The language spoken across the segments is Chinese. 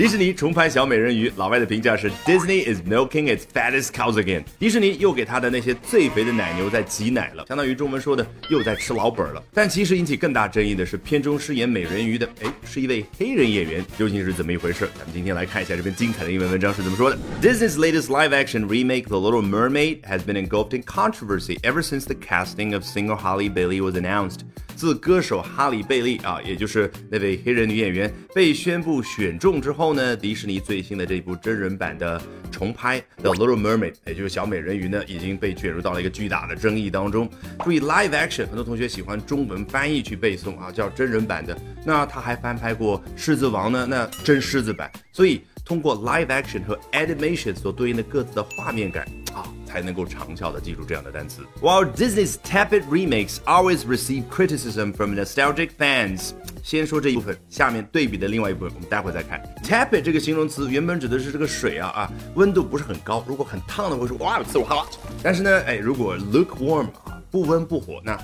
迪士尼重拍小美人鱼，老外的评价是 Disney is milking its fattest cows again。迪士尼又给他的那些最肥的奶牛在挤奶了，相当于中文说的又在吃老本了。但其实引起更大争议的是，片中饰演美人鱼的，是一位黑人演员，究竟是怎么一回事？咱们今天来看一下这篇精彩的英文文章是怎么说的。Disney's latest live-action remake, The Little Mermaid, has been engulfed in controversy ever since the casting of singer Halle Bailey was announced. 自歌手哈里贝利也就是那位黑人女演员被宣布选中之后呢，迪士尼最新的这部真人版的重拍 The Little Mermaid， 也就是小美人鱼呢，已经被卷入到了一个巨大的争议当中。注意 live action， 很多同学喜欢中文翻译去背诵叫真人版的。那他还翻拍过狮子王呢，那真狮子版。所以通过 live action 和 animation 所对应的各自的画面感才能够长效地记住这样的单词。While Disney's tepid remakes always receive criticism from nostalgic fans， 先说这一部分，下面对比的另外一部分我们待会再看。Tepid 这个形容词原本指的是这个水温度不是很高，如果很烫的会说哇刺我哈喇。但是呢，如果 lukewarm 不温不火，那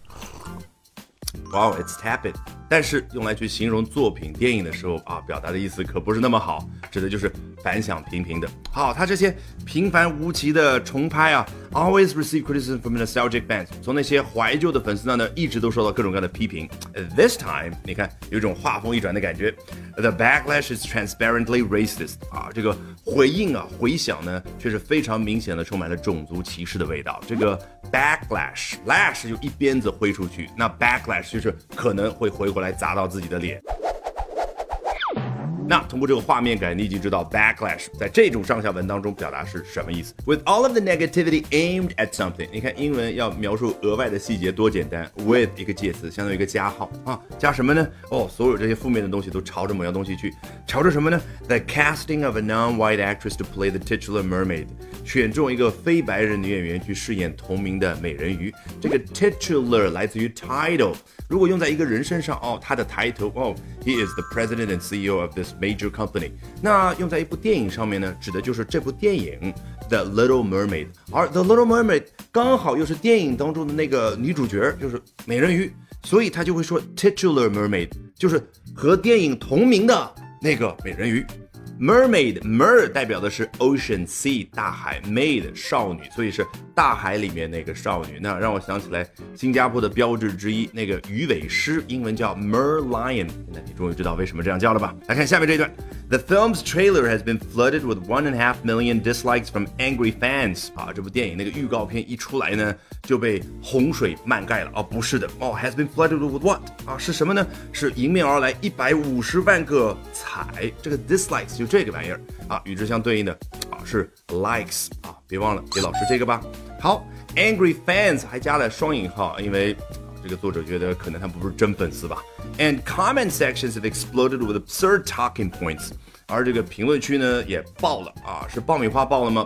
Wow, it's tepid。但是用来去形容作品电影的时候表达的意思可不是那么好，指的就是反响平平的。好，他这些平凡无奇的重拍always receive criticism from nostalgic fans， 从那些怀旧的粉丝那呢，一直都受到各种各样的批评。This time， 你看有一种话锋一转的感觉。The backlash is transparently racist。这个回应回响呢，却是非常明显的充满了种族歧视的味道。这个 backlash 就一鞭子挥出去，那 backlash 就是可能会回回来砸到自己的脸。那通过这个画面感，你已经知道 backlash 在这种上下文当中表达是什么意思。With all of the negativity aimed at something， 你看英文要描述额外的细节多简单 ，with 一个介词相当于一个加号加什么呢？所有这些负面的东西都朝着某样东西去，朝着什么呢 ？The casting of a non-white actress to play the titular mermaid， 选中一个非白人女演员去饰演同名的美人鱼。这个 titular 来自于 title， 如果用在一个人身上他的抬头he is the president and CEO of this major company。 那用在一部电影上面呢，指的就是这部电影 The Little Mermaid， 而 The Little Mermaid 刚好又是电影当中的那个女主角，就是美人鱼，所以他就会说 titular mermaid， 就是和电影同名的那个美人鱼。Mermaid mer 代表的是 ocean sea 大海 maid 少女，所以是大海里面那个少女。那让我想起来新加坡的标志之一，那个鱼尾狮，英文叫 merlion。那你终于知道为什么这样叫了吧？来看下面这一段。The film's trailer has been flooded with 1.5 million dislikes from angry fans。这部电影那个预告片一出来呢，就被洪水漫盖了。不是的，has been flooded with what？是什么呢？是迎面而来150万个踩。这个 dislikes 就这个玩意儿与之相对应的是 likes 别忘了给老师这个吧。好 ，angry fans 还加了双引号，因为这个作者觉得可能他不是真粉丝吧。And comment sections have exploded with absurd talking points。而这个评论区呢也爆了是爆米花爆了吗？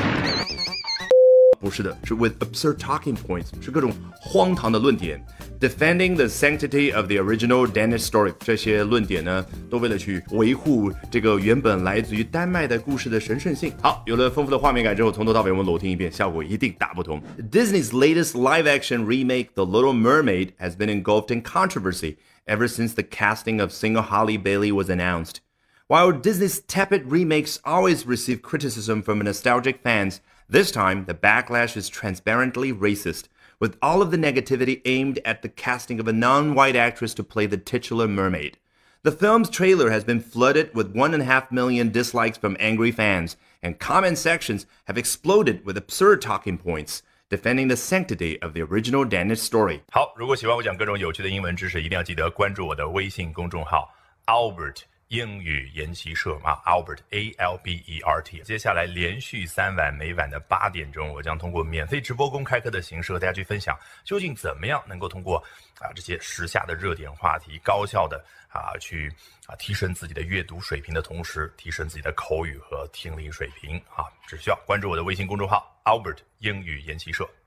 不是的，是 with absurd talking points， 是各种荒唐的论点。Defending the sanctity of the original Danish story， 这些论点呢，都为了去维护这个原本来自于丹麦的故事的神圣性。好，有了丰富的画面感之后，从头到尾我们裸听一遍，效果一定大不同。Disney's latest live-action remake, The Little Mermaid, has been engulfed in controversy ever since the casting of singer Halle Bailey was announced. While Disney's tepid remakes always receive criticism from nostalgic fans, this time the backlash is transparently racist, with all of the negativity aimed at the casting of a non-white actress to play the titular mermaid. The film's trailer has been flooded with 1.5 million dislikes from angry fans, and comment sections have exploded with absurd talking points, defending the sanctity of the original Danish story. 好，如果喜欢我讲各种有趣的英文知识，一定要记得关注我的微信公众号 Albert 英语研习社Albert ALBERT。 接下来连续3晚，每晚的8点钟，我将通过免费直播公开课的形式和大家去分享，究竟怎么样能够通过这些时下的热点话题，高效的去提升自己的阅读水平的同时，提升自己的口语和听力水平只需要关注我的微信公众号 Albert 英语研习社。